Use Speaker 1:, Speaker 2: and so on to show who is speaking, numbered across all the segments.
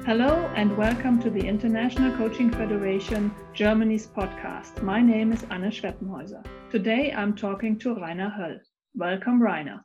Speaker 1: Hello and welcome to the International Coaching Federation Germany's podcast. My name is Anne Schweppenhäuser. Today I'm talking to Rainer Höll. Welcome, Rainer.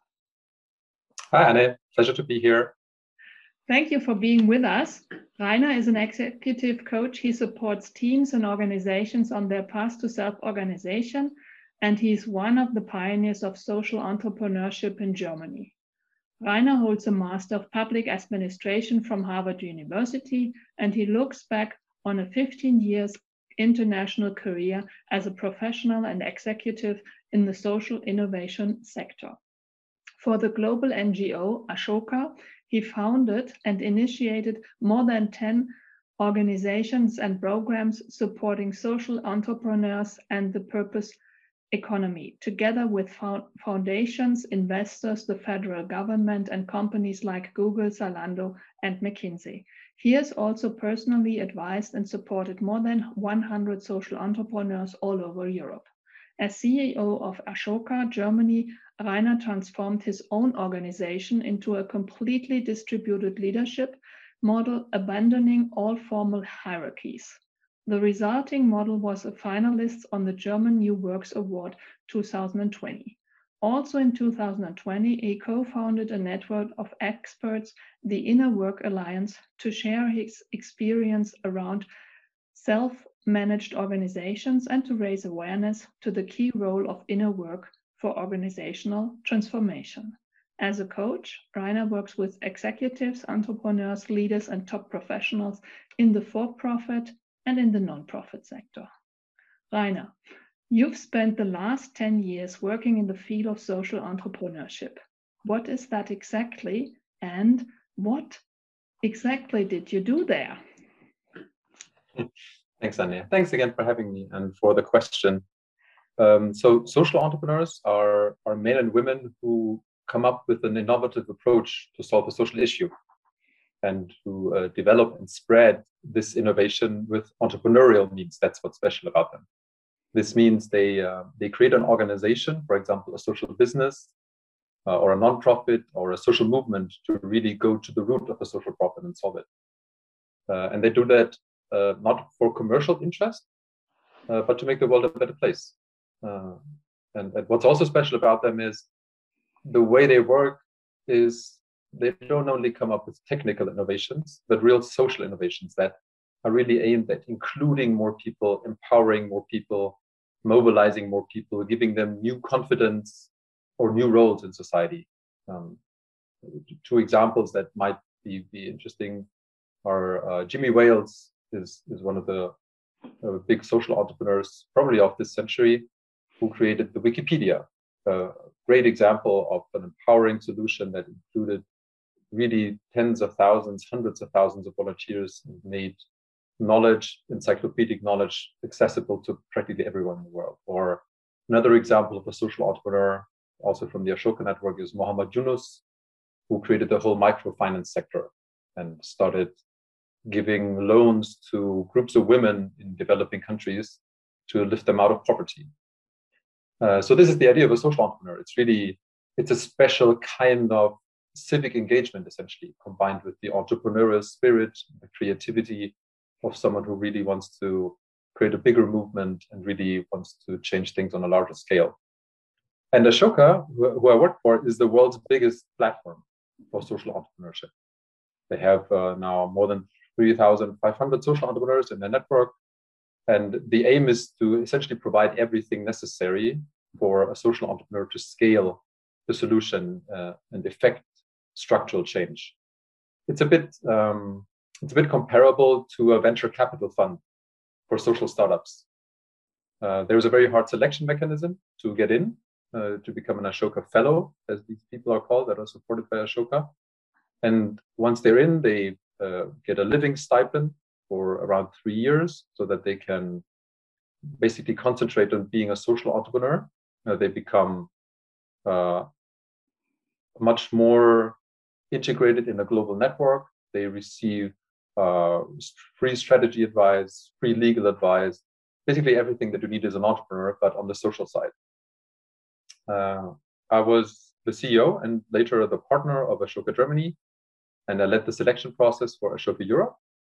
Speaker 2: Hi, Anne. Pleasure to be here.
Speaker 1: Thank you for being with us. Rainer is an executive coach. He supports teams and organizations on their path to self-organization, and he's one of the pioneers of social entrepreneurship in Germany. Rainer holds a Master of Public Administration from Harvard University, and he looks back on a 15 years international career as a professional and executive in the social innovation sector. For the global NGO Ashoka, he founded and initiated more than 10 organizations and programs supporting social entrepreneurs and the purpose economy, together with foundations, investors, the federal government, and companies like Google, Zalando, and McKinsey. He has also personally advised and supported more than 100 social entrepreneurs all over Europe. As CEO of Ashoka Germany, Rainer transformed his own organization into a completely distributed leadership model, abandoning all formal hierarchies. The resulting model was a finalist on the German New Works Award 2020. Also in 2020, he co-founded a network of experts, the Inner Work Alliance, to share his experience around self-managed organizations and to raise awareness to the key role of inner work for organizational transformation. As a coach, Rainer works with executives, entrepreneurs, leaders, and top professionals in the for-profit and in the non-profit sector. Rainer, you've spent the last 10 years working in the field of social entrepreneurship. What is that exactly, and what exactly did you do there?
Speaker 2: Thanks, Anja. Thanks again for having me and for the question. So social entrepreneurs are men and women who come up with an innovative approach to solve a social issue and to develop and spread this innovation with entrepreneurial means. That's what's special about them. This means they create an organization, for example, a social business or a nonprofit or a social movement, to really go to the root of a social problem and solve it. And they do that not for commercial interest, but to make the world a better place. And what's also special about them is the way they work is they don't only come up with technical innovations, but real social innovations that are really aimed at including more people, empowering more people, mobilizing more people, giving them new confidence or new roles in society. Two examples that might be interesting are Jimmy Wales is one of the big social entrepreneurs, probably of this century, who created the Wikipedia. A great example of an empowering solution that included really tens of thousands, hundreds of thousands of volunteers, and made knowledge, encyclopedic knowledge, accessible to practically everyone in the world. Or another example of a social entrepreneur, also from the Ashoka network, is Muhammad Yunus, who created the whole microfinance sector and started giving loans to groups of women in developing countries to lift them out of poverty. So this is the idea of a social entrepreneur. It's a special kind of civic engagement, essentially, combined with the entrepreneurial spirit, the creativity of someone who really wants to create a bigger movement and really wants to change things on a larger scale. And Ashoka, who I work for, is the world's biggest platform for social entrepreneurship. They have now more than 3,500 social entrepreneurs in their network. And the aim is to essentially provide everything necessary for a social entrepreneur to scale the solution and effect structural change. It's a bit comparable to a venture capital fund for social startups. There's a very hard selection mechanism to get in, to become an Ashoka fellow, as these people are called, that are supported by Ashoka. And once they're in, they get a living stipend for around 3 years, so that they can basically concentrate on being a social entrepreneur. They become much more integrated in a global network. They receive free strategy advice, free legal advice, basically everything that you need as an entrepreneur, but on the social side. I was the CEO and later the partner of Ashoka Germany, and I led the selection process for Ashoka Europe,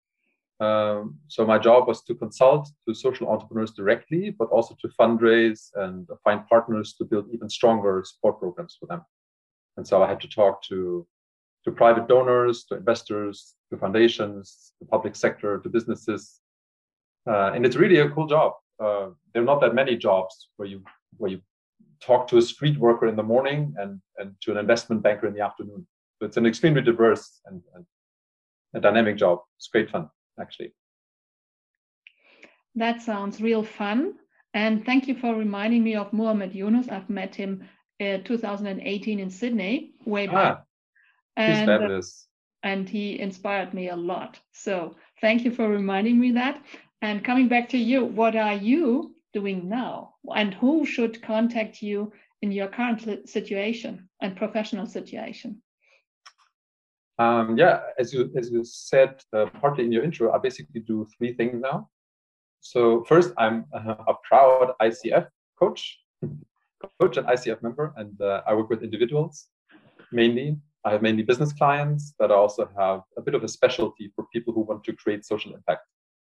Speaker 2: So my job was to consult to social entrepreneurs directly, but also to fundraise and find partners to build even stronger support programs for them. And so I had to talk to private donors, to investors, to foundations, to public sector, to businesses. And it's really a cool job. There are not that many jobs where you talk to a street worker in the morning and to an investment banker in the afternoon. So it's an extremely diverse and a dynamic job. It's great fun, actually.
Speaker 1: That sounds real fun. And thank you for reminding me of Muhammad Yunus. I've met him in 2018 in Sydney, way back.
Speaker 2: He's fabulous.
Speaker 1: And he inspired me a lot. So thank you for reminding me that. And coming back to you, what are you doing now? And who should contact you in your current situation and professional situation?
Speaker 2: Yeah, as you said partly in your intro, I basically do 3 things now. So first, I'm a proud ICF coach and ICF member, and I work with individuals mainly. I have mainly business clients, but I also have a bit of a specialty for people who want to create social impact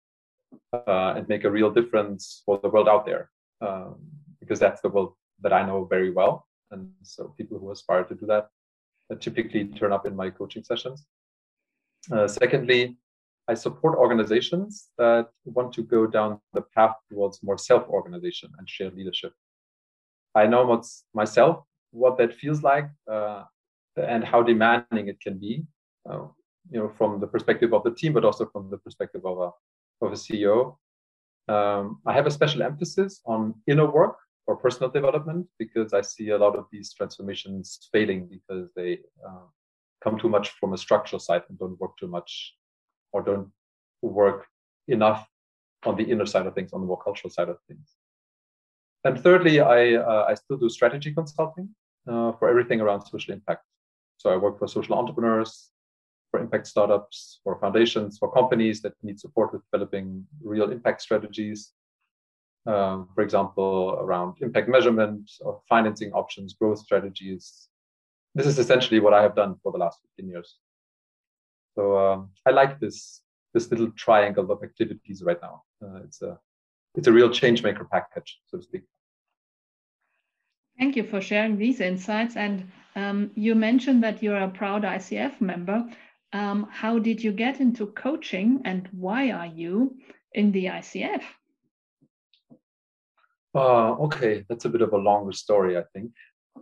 Speaker 2: and make a real difference for the world out there, because that's the world that I know very well. And so people who aspire to do that typically turn up in my coaching sessions. Secondly, I support organizations that want to go down the path towards more self-organization and shared leadership. I know myself what that feels like and how demanding it can be, from the perspective of the team, but also from the perspective of a CEO. I have a special emphasis on inner work or personal development, because I see a lot of these transformations failing because they come too much from a structural side and don't work too much, or don't work enough on the inner side of things, on the more cultural side of things. And thirdly, I still do strategy consulting for everything around social impact. So I work for social entrepreneurs, for impact startups, for foundations, for companies that need support with developing real impact strategies. For example, around impact measurement or financing options, growth strategies. This is essentially what I have done for the last 15 years. So I like this little triangle of activities right now. It's a real change maker package, so to speak.
Speaker 1: Thank you for sharing these insights. And you mentioned that you're a proud ICF member. How did you get into coaching, and why are you in the ICF?
Speaker 2: Okay, that's a bit of a longer story, I think.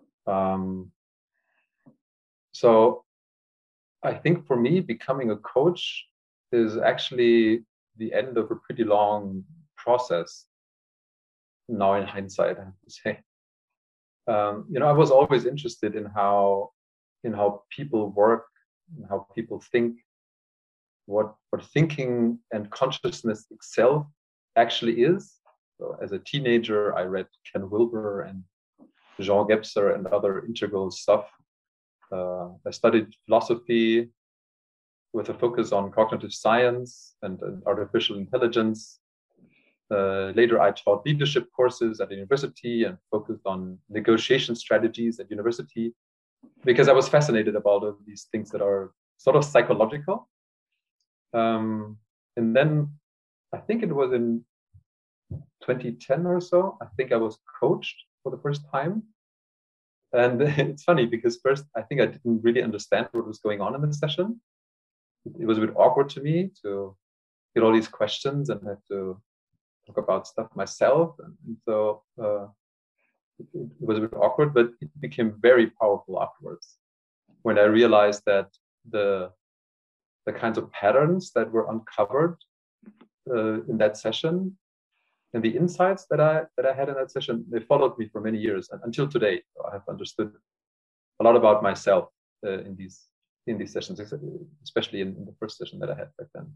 Speaker 2: So I think for me, becoming a coach is actually the end of a pretty long process. Now, in hindsight, I have to say. I was always interested in how people work, and how people think, what thinking and consciousness itself actually is. So as a teenager, I read Ken Wilber and Jean Gebser and other integral stuff. I studied philosophy with a focus on cognitive science and artificial intelligence. Later, I taught leadership courses at the university and focused on negotiation strategies at university, because I was fascinated about all these things that are sort of psychological. And then I think it was in 2010 or so, I think I was coached for the first time. And it's funny because first, I think I didn't really understand what was going on in the session. It was a bit awkward to me to get all these questions and have to talk about stuff myself. And so it was a bit awkward, but it became very powerful afterwards when I realized that the kinds of patterns that were uncovered in that session and the insights that I had in that session, they followed me for many years, and until today. So I have understood a lot about myself in these sessions, especially in the first session that I had back then.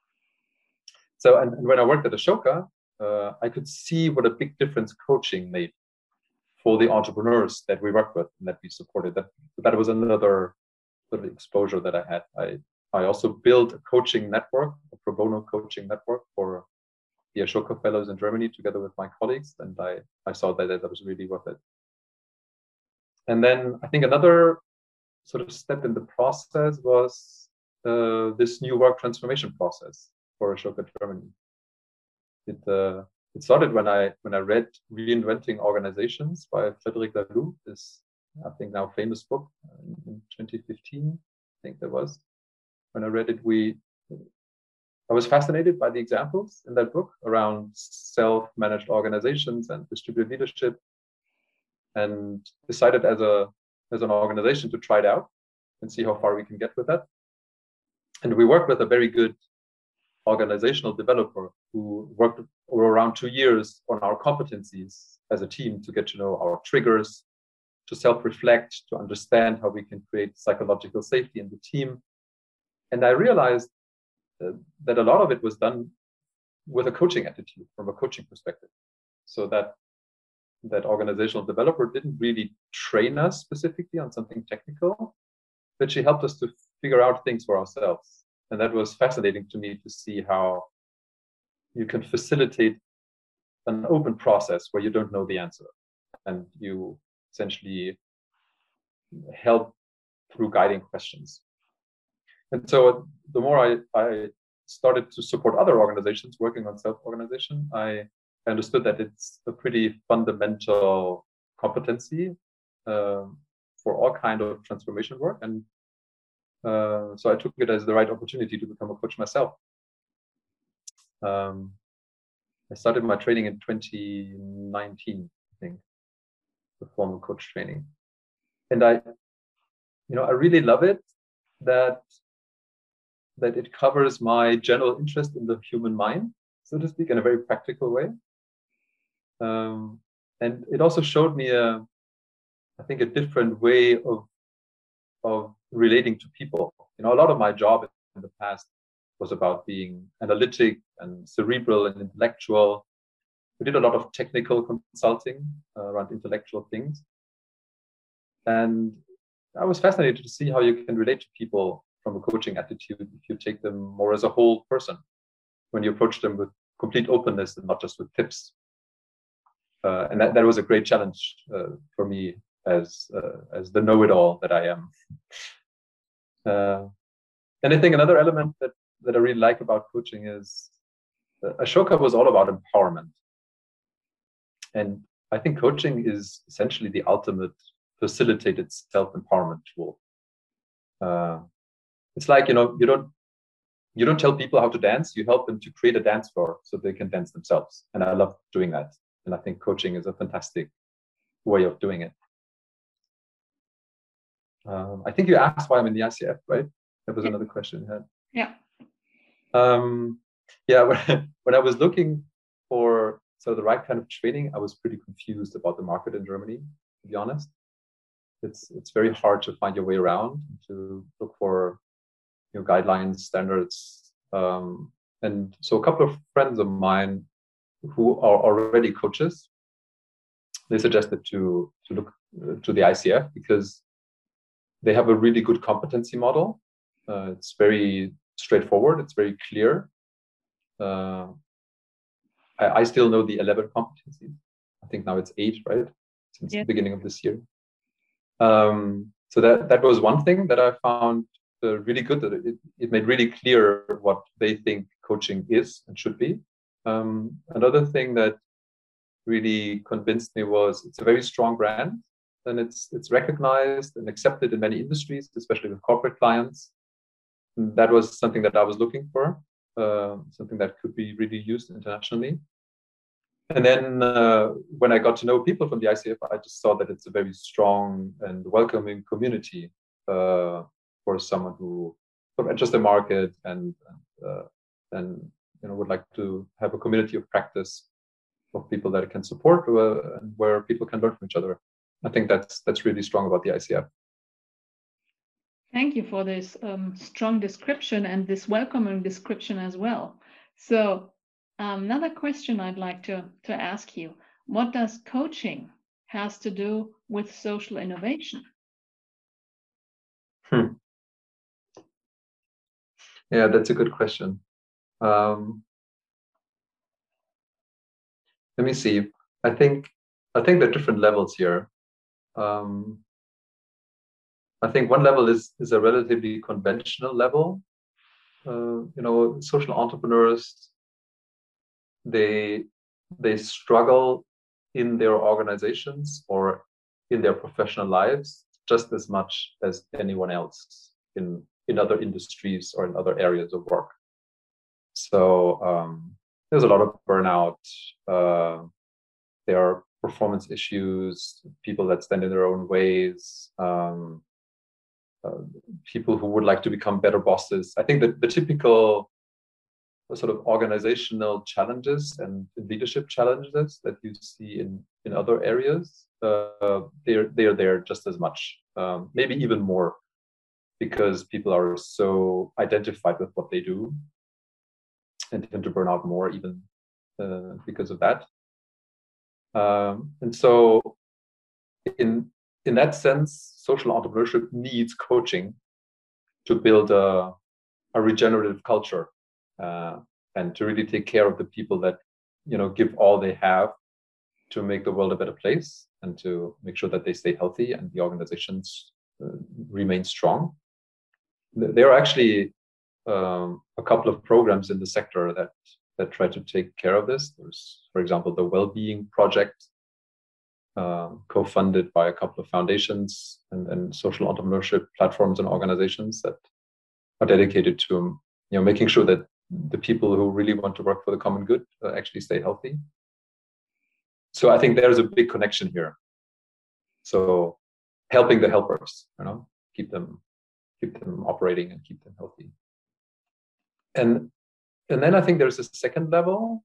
Speaker 2: So, and when I worked at Ashoka, I could see what a big difference coaching made for the entrepreneurs that we worked with and that we supported. That was another sort of exposure that I had. I also built a coaching network, a pro bono coaching network for the Ashoka Fellows in Germany, together with my colleagues, and I saw that was really worth it. And then I think another sort of step in the process was this new work transformation process. for Ashoka Germany. It started when I read Reinventing Organizations by Frederic Laloux, this I think now famous book in 2015. I think that was when I read it. I was fascinated by the examples in that book around self-managed organizations and distributed leadership, and decided as an organization to try it out and see how far we can get with that. And we worked with a very good organizational developer who worked over around 2 years on our competencies as a team to get to know our triggers, to self-reflect, to understand how we can create psychological safety in the team. And I realized that a lot of it was done with a coaching attitude, from a coaching perspective. So that organizational developer didn't really train us specifically on something technical, but she helped us to figure out things for ourselves. And that was fascinating to me to see how you can facilitate an open process where you don't know the answer, and you essentially help through guiding questions. And so the more I started to support other organizations working on self-organization, I understood that it's a pretty fundamental competency for all kind of transformation work. And so I took it as the right opportunity to become a coach myself. I started my training in 2019, I think, the formal coach training. And I really love it that it covers my general interest in the human mind, so to speak, in a very practical way. And it also showed me I think a different way of relating to people. A lot of my job in the past was about being analytic and cerebral and intellectual. We did a lot of technical consulting around intellectual things. And I was fascinated to see how you can relate to people from a coaching attitude if you take them more as a whole person, when you approach them with complete openness and not just with tips. And that was a great challenge for me as the know-it-all that I am. And I think another element that I really like about coaching is Ashoka was all about empowerment. And I think coaching is essentially the ultimate facilitated self-empowerment tool. It's like, you don't tell people how to dance, you help them to create a dance floor so they can dance themselves. And I love doing that. And I think coaching is a fantastic way of doing it. I think you asked why I'm in the ICF, right? That was another question you had.
Speaker 1: Yeah.
Speaker 2: When I was looking for the right kind of training, I was pretty confused about the market in Germany, to be honest. It's very hard to find your way around, to look for guidelines, standards. And so a couple of friends of mine who are already coaches, they suggested to look to the ICF because they have a really good competency model. It's very straightforward. It's very clear. I still know the 11 competencies. I think now it's 8, right? Since the beginning of this year. So that was one thing that I found really good, that it made really clear what they think coaching is and should be. Another thing that really convinced me was it's a very strong brand, and it's recognized and accepted in many industries, especially with corporate clients. And that was something that I was looking for, something that could be really used internationally. And then when I got to know people from the ICF, I just saw that it's a very strong and welcoming community for someone who enters the market and would like to have a community of practice of people that it can support, and where people can learn from each other. I think that's really strong about the ICF.
Speaker 1: Thank you for this strong description and this welcoming description as well. So another question I'd like to ask you: what does coaching has to do with social innovation?
Speaker 2: Yeah, that's a good question. Let me see. I think there are different levels here. I think one level is a relatively conventional level, social entrepreneurs, they struggle in their organizations or in their professional lives just as much as anyone else in other industries or in other areas of work. So there's a lot of burnout. There are performance issues, people that stand in their own ways, people who would like to become better bosses. I think that the typical sort of organizational challenges and leadership challenges that you see in other areas, they're there just as much, maybe even more, because people are so identified with what they do and tend to burn out more even because of that. And so in that sense, social entrepreneurship needs coaching to build a regenerative culture and to really take care of the people that give all they have to make the world a better place and to make sure that they stay healthy and the organizations remain strong. There are actually a couple of programs in the sector that try to take care of this. There's, for example, the Wellbeing Project, co-funded by a couple of foundations and social entrepreneurship platforms and organizations that are dedicated to making sure that the people who really want to work for the common good actually stay healthy. So I think there's a big connection here. So helping the helpers, keep them operating and keep them healthy. And then I think there's a second level.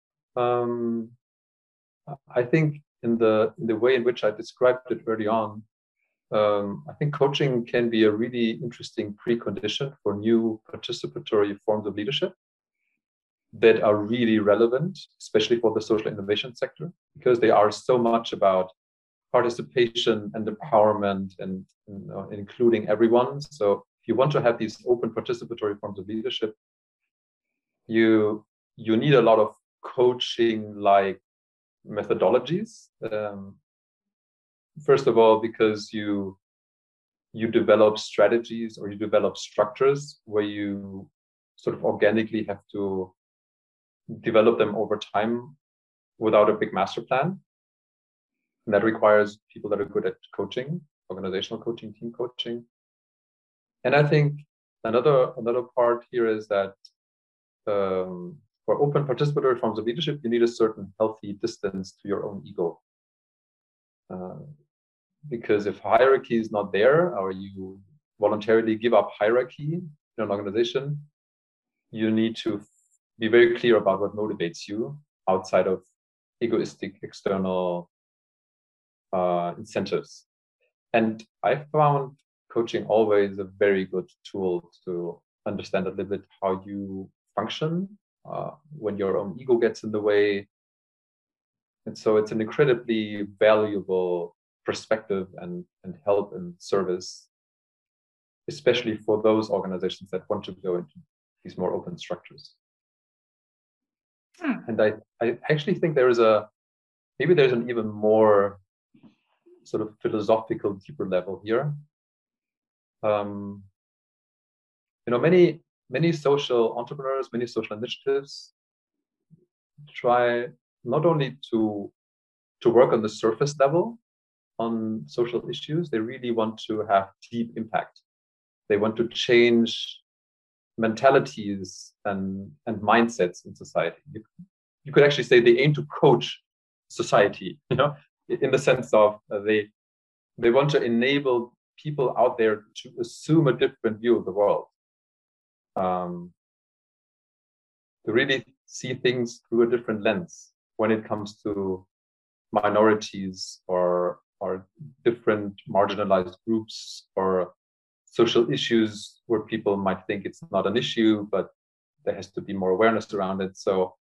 Speaker 2: I think in the way in which I described it early on, I think coaching can be a really interesting precondition for new participatory forms of leadership that are really relevant, especially for the social innovation sector, because they are so much about participation and empowerment and including everyone. So if you want to have these open participatory forms of leadership, you need a lot of coaching-like methodologies. First of all, because you develop strategies or you develop structures where you sort of organically have to develop them over time without a big master plan. And that requires people that are good at coaching, organizational coaching, team coaching. And I think another part here is that for open participatory forms of leadership, you need a certain healthy distance to your own ego. Because if hierarchy is not there, or you voluntarily give up hierarchy in an organization, you need to be very clear about what motivates you outside of egoistic external incentives. And I found coaching always a very good tool to understand a little bit how you function when your own ego gets in the way. And so it's an incredibly valuable perspective and help and service, especially for those organizations that want to go into these more open structures. And I actually think there's an even more sort of philosophical, deeper level here. Many social entrepreneurs, many social initiatives try not only to work on the surface level on social issues, they really want to have deep impact. They want to change mentalities and mindsets in society. You could actually say they aim to coach society, in the sense of they want to enable people out there to assume a different view of the world, to really see things through a different lens when it comes to minorities or different marginalized groups or social issues where people might think it's not an issue, but there has to be more awareness around it. So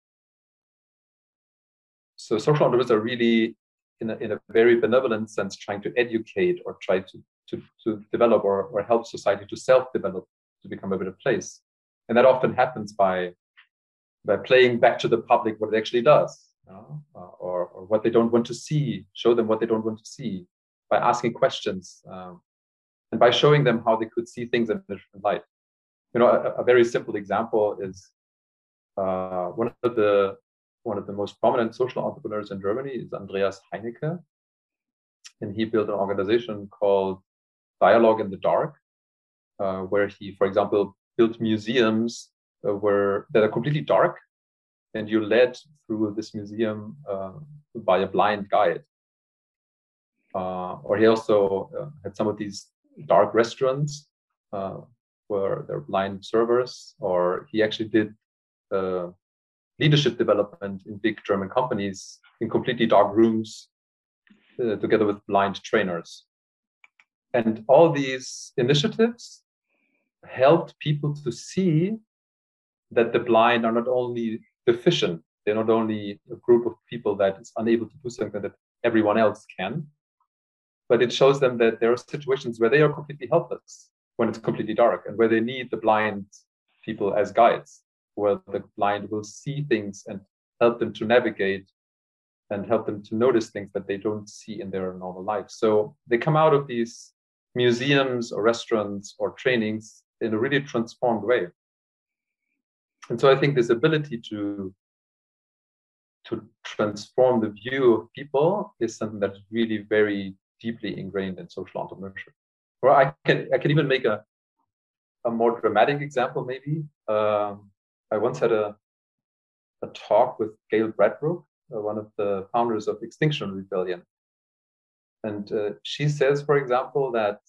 Speaker 2: social entrepreneurs are really, in a very benevolent sense, trying to educate or try to develop or help society to self-develop, to become a better place. And that often happens by playing back to the public what it actually does, or what they don't want to see, show them what they don't want to see, by asking questions, and by showing them how they could see things in a different light. a very simple example is one of the most prominent social entrepreneurs in Germany is Andreas Heinecke, and he built an organization called Dialogue in the Dark, where he, for example, built museums that are completely dark, and you're led through this museum by a blind guide. Or he also had some of these dark restaurants where there are blind servers, or he actually did leadership development in big German companies in completely dark rooms together with blind trainers. And all these initiatives helped people to see that the blind are not only deficient, they're not only a group of people that is unable to do something that everyone else can, but it shows them that there are situations where they are completely helpless when it's completely dark, and where they need the blind people as guides, where the blind will see things and help them to navigate and help them to notice things that they don't see in their normal life. So they come out of these museums or restaurants or trainings in a really transformed way. And so I think this ability to transform the view of people is something that's really very deeply ingrained in social entrepreneurship. Or I can even make a more dramatic example, maybe. I once had a talk with Gail Bradbrook, one of the founders of Extinction Rebellion. And she says, for example, that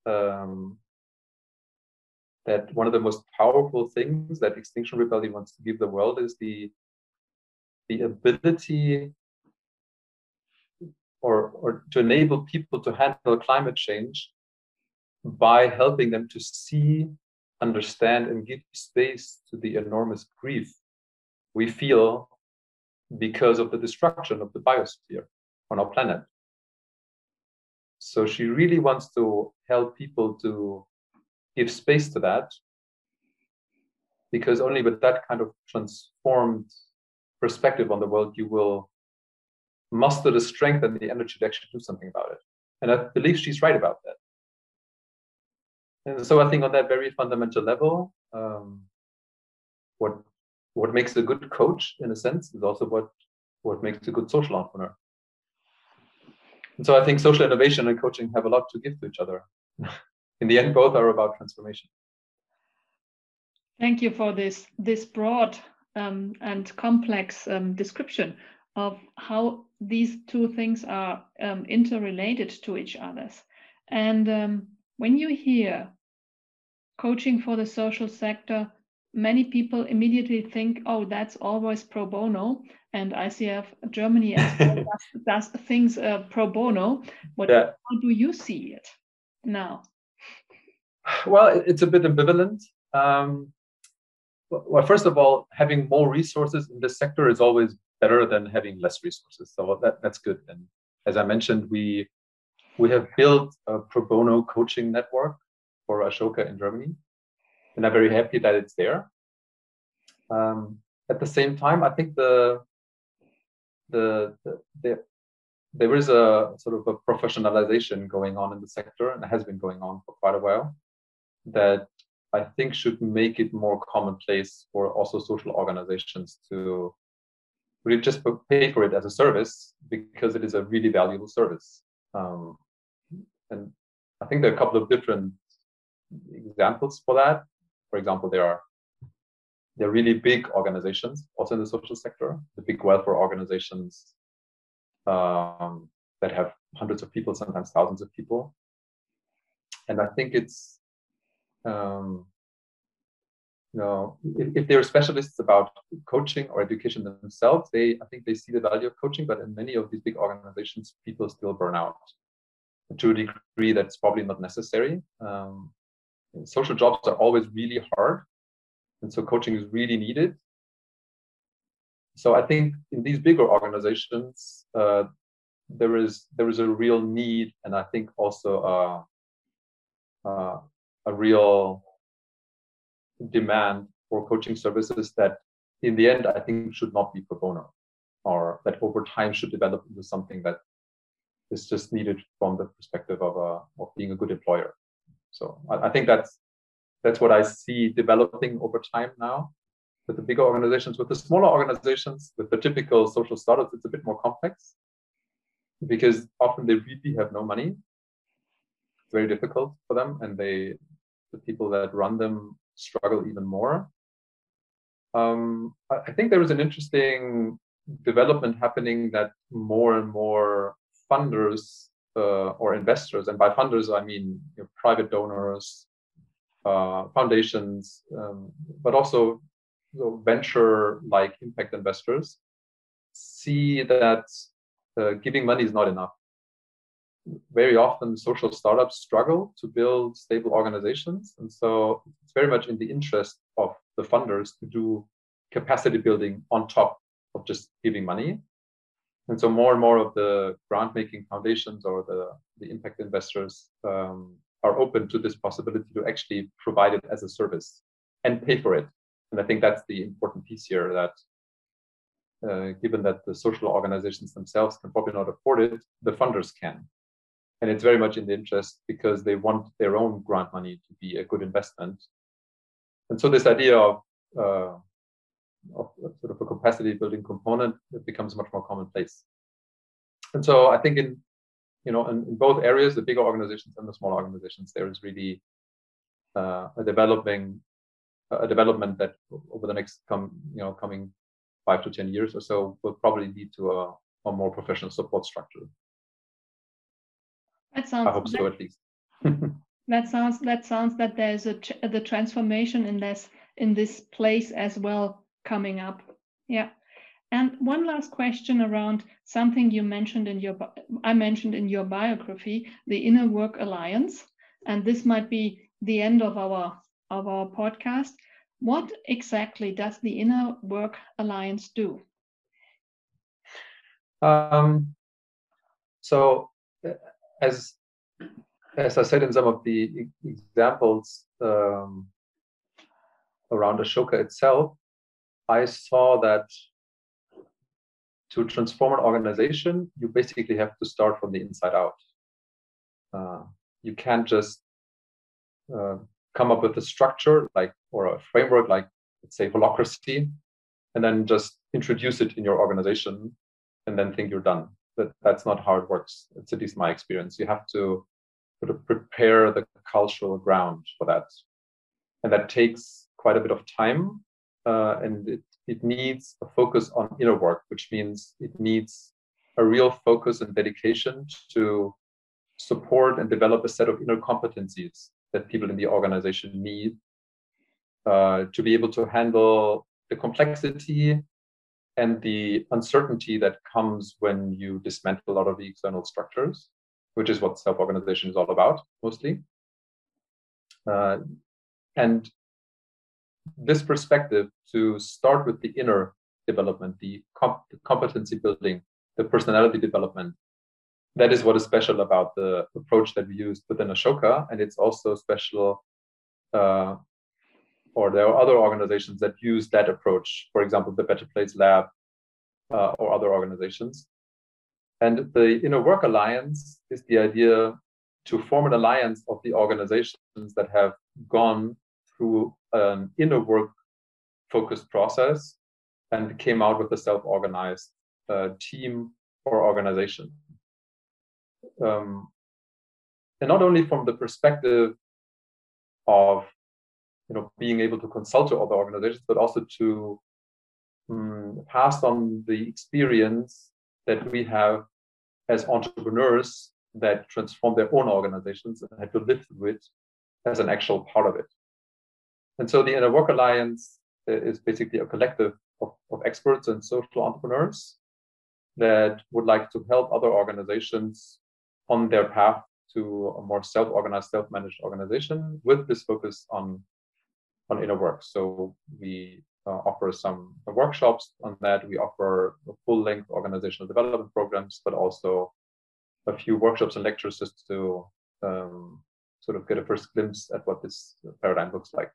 Speaker 2: that one of the most powerful things that Extinction Rebellion wants to give the world is the ability or to enable people to handle climate change by helping them to see, understand, and give space to the enormous grief we feel because of the destruction of the biosphere on our planet. So she really wants to help people to give space to that, because only with that kind of transformed perspective on the world, you will muster the strength and the energy to actually do something about it. And I believe she's right about that. And so I think on that very fundamental level, what makes a good coach, in a sense, is also what makes a good social entrepreneur. And so I think social innovation and coaching have a lot to give to each other. In the end, both are about transformation.
Speaker 1: Thank you for this broad and complex description of how these two things are interrelated to each other. And when you hear coaching for the social sector, many people immediately think, oh, that's always pro bono. And ICF Germany as well does things pro bono. How do you see it now?
Speaker 2: Well, it's a bit ambivalent. Well, first of all, having more resources in this sector is always better than having less resources. So that's good. And as I mentioned, we have built a pro bono coaching network for Ashoka in Germany, and I'm very happy that it's there. At the same time, I think there is a sort of a professionalization going on in the sector, and it has been going on for quite a while, that I think should make it more commonplace for also social organizations to really just pay for it as a service, because it is a really valuable service. And I think there are a couple of different examples for that. For example, there are really big organizations also in the social sector, the big welfare organizations that have hundreds of people, sometimes thousands of people. And I think it's, if they're specialists about coaching or education themselves, I think they see the value of coaching, but in many of these big organizations, people still burn out to a degree that's probably not necessary. Social jobs are always really hard, and so coaching is really needed. So I think in these bigger organizations, there is a real need, and I think also a real demand for coaching services that in the end I think should not be pro bono, or that over time should develop into something that is just needed from the perspective of being a good employer. So I think that's that's what I see developing over time now with the bigger organizations. With the smaller organizations, with the typical social startups, it's a bit more complex because often they really have no money. It's very difficult for them, and the people that run them struggle even more. I think there is an interesting development happening that more and more funders or investors, and by funders I mean private donors, foundations, but also venture-like impact investors, see that giving money is not enough. Very often social startups struggle to build stable organizations, and so it's very much in the interest of the funders to do capacity building on top of just giving money. And so more and more of the grant-making foundations or the impact investors are open to this possibility to actually provide it as a service and pay for it. And I think that's the important piece here, that given that the social organizations themselves can probably not afford it, the funders can. And it's very much in the interest because they want their own grant money to be a good investment. And so this idea of sort of a capacity building component, it becomes much more commonplace. And so I think in both areas, the bigger organizations and the smaller organizations, there is really a development that over the next coming 5 to 10 years or so will probably lead to a more professional support structure.
Speaker 1: That sounds,
Speaker 2: I hope so, at least.
Speaker 1: that sounds that there's the transformation in this place as well coming up. Yeah. And one last question around something you mentioned I mentioned in your biography, the Inner Work Alliance, and this might be the end of our podcast. What exactly does the Inner Work Alliance do?
Speaker 2: So, as I said in some of the examples around Ashoka itself, I saw that to transform an organization, you basically have to start from the inside out. You can't just come up with a structure or a framework like, let's say, Holacracy, and then just introduce it in your organization and then think you're done. That's not how it works. It's at least my experience. You have to sort of prepare the cultural ground for that. And that takes quite a bit of time. And it needs a focus on inner work, which means it needs a real focus and dedication to support and develop a set of inner competencies that people in the organization need to be able to handle the complexity and the uncertainty that comes when you dismantle a lot of the external structures, which is what self-organization is all about, mostly. And this perspective, to start with the inner development, the competency building, the personality development, that is what is special about the approach that we used within Ashoka. And it's also special, or there are other organizations that use that approach, for example, the Better Place Lab or other organizations. And the Inner Work Alliance is the idea to form an alliance of the organizations that have gone through an inner work focused process and came out with a self-organized team or organization. And not only from the perspective of being able to consult to other organizations, but also to pass on the experience that we have as entrepreneurs that transform their own organizations and had to live through it as an actual part of it. And so the Inner Work Alliance is basically a collective of experts and social entrepreneurs that would like to help other organizations on their path to a more self-organized, self-managed organization with this focus on inner work. So we offer some workshops on that. We offer full-length organizational development programs, but also a few workshops and lectures just to sort of get a first glimpse at what this paradigm looks like.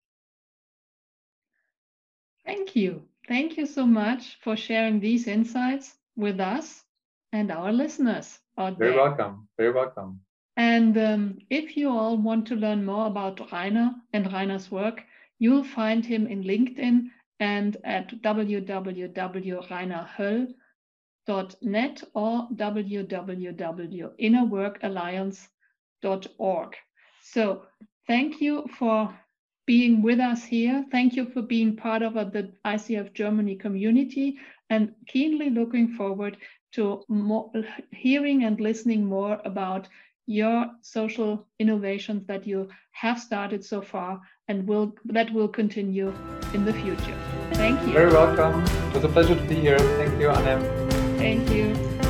Speaker 1: Thank you. Thank you so much for sharing these insights with us and our listeners out there.
Speaker 2: Very welcome. Very welcome.
Speaker 1: And if you all want to learn more about Rainer and Rainer's work, you'll find him in LinkedIn and at www.rainerhöll.net or www.innerworkalliance.org. So thank you for being with us here. Thank you for being part of the ICF Germany community, and keenly looking forward to hearing and listening more about your social innovations that you have started so far and that will continue in the future. Thank you.
Speaker 2: Very welcome. It was a pleasure to be here. Thank you, Annem.
Speaker 1: Thank you.